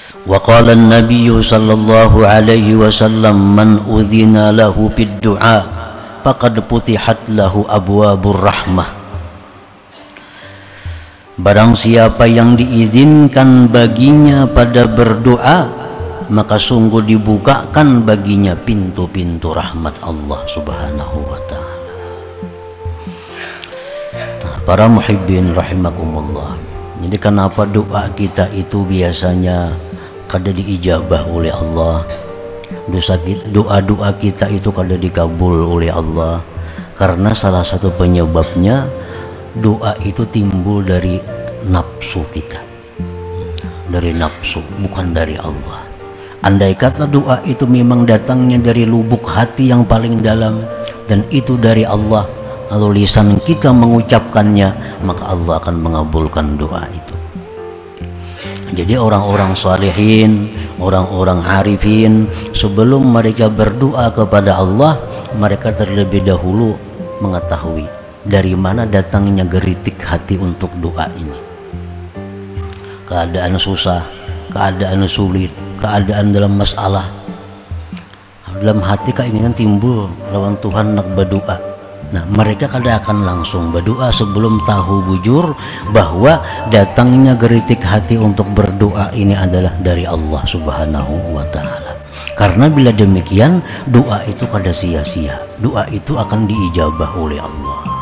Wa qala an-nabiy sallallahu alaihi wasallam man udhina lahu bid-du'a faqad putihat lahu abwabur rahmah. Barang siapa yang diizinkan baginya pada berdoa, maka sungguh dibukakan baginya pintu-pintu rahmat Allah subhanahu wa ta'ala. Nah, para muhibbin rahimakumullah, jadi kenapa doa kita itu biasanya kada diijabah oleh Allah, doa-doa kita itu kada dikabul oleh Allah? Karena salah satu penyebabnya doa itu timbul dari nafsu kita, dari nafsu, bukan dari Allah. Andai kata doa itu memang datangnya dari lubuk hati yang paling dalam dan itu dari Allah, lalu lisan kita mengucapkannya, maka Allah akan mengabulkan doa itu. Jadi orang-orang salihin, orang-orang arifin, sebelum mereka berdoa kepada Allah, mereka terlebih dahulu mengetahui dari mana datangnya geritik hati untuk doa ini. Keadaan susah, keadaan sulit, keadaan dalam masalah, dalam hati keinginan timbul lawan Tuhan nak berdoa. Nah, mereka kadang akan langsung berdoa sebelum tahu bujur bahwa datangnya geritik hati untuk berdoa ini adalah dari Allah subhanahu wa ta'ala. Karena bila demikian, doa itu kada sia-sia, doa itu akan diijabah oleh Allah.